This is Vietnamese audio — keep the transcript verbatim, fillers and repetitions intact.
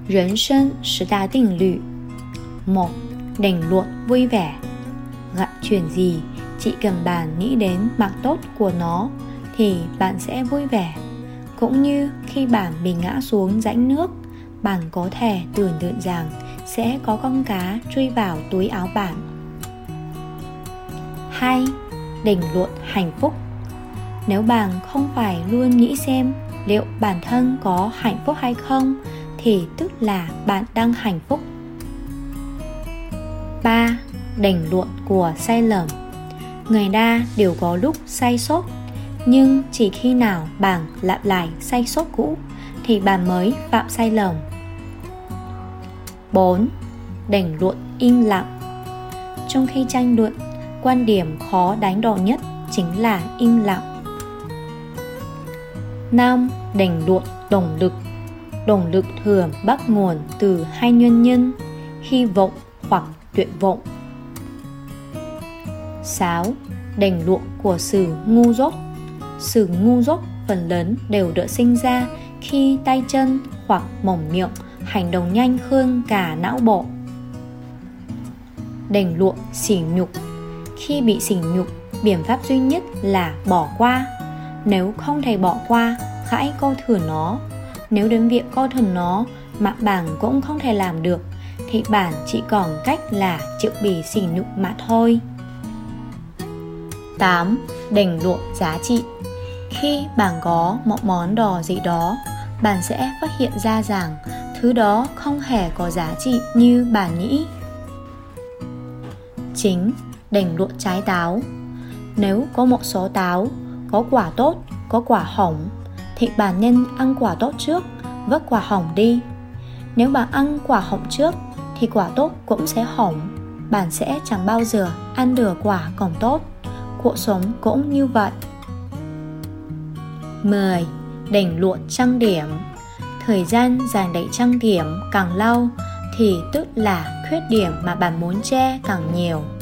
人生十大定律. Một. Định luật vui vẻ. Gặp chuyện gì, chỉ cần bạn nghĩ đến mặt tốt của nó thì bạn sẽ vui vẻ. Cũng như khi bạn bị ngã xuống rãnh nước, bạn có thể tưởng tượng rằng sẽ có con cá chui vào túi áo bạn. Hai. Định luật hạnh phúc. Nếu bạn không phải luôn nghĩ xem liệu bản thân có hạnh phúc hay không, thì tức là bạn đang hạnh phúc. Ba. Định luật của sai lầm. Người ta đều có lúc sai sót, nhưng chỉ khi nào bạn lặp lại sai sót cũ thì bạn mới phạm sai lầm. Bốn. Định luật im lặng. Trong khi tranh luận, quan điểm khó đánh đổ nhất chính là im lặng. Năm. Định luật động lực. Động lực thường bắt nguồn từ hai nguyên nhân: hy vọng hoặc tuyệt vọng. Sáu. Định luật của sự ngu dốt. Sự ngu dốt phần lớn đều được sinh ra khi tay chân hoặc mồm miệng hành động nhanh hơn cả não bộ. Định luật sỉ nhục. Khi bị sỉ nhục, biện pháp duy nhất là bỏ qua. Nếu không thể bỏ qua, hãy coi thường nó. Nếu đến việc coi thường nó mà bạn cũng không thể làm được, thì bạn chỉ còn cách là chịu bị sỉ nhục mà thôi. Tám. Định luật giá trị. Khi bạn có một món đồ gì đó, bạn sẽ phát hiện ra rằng thứ đó không hề có giá trị như bạn nghĩ. Chín. Định luật trái táo. Nếu có một số táo có quả tốt, có quả hỏng, thì bạn nên ăn quả tốt trước, vứt quả hỏng đi. Nếu bạn ăn quả hỏng trước thì quả tốt cũng sẽ hỏng. Bạn sẽ chẳng bao giờ ăn được quả còn tốt. Cuộc sống cũng như vậy. Mười. Định luật trang điểm. Thời gian dành để trang điểm càng lâu thì tức là khuyết điểm mà bạn muốn che càng nhiều.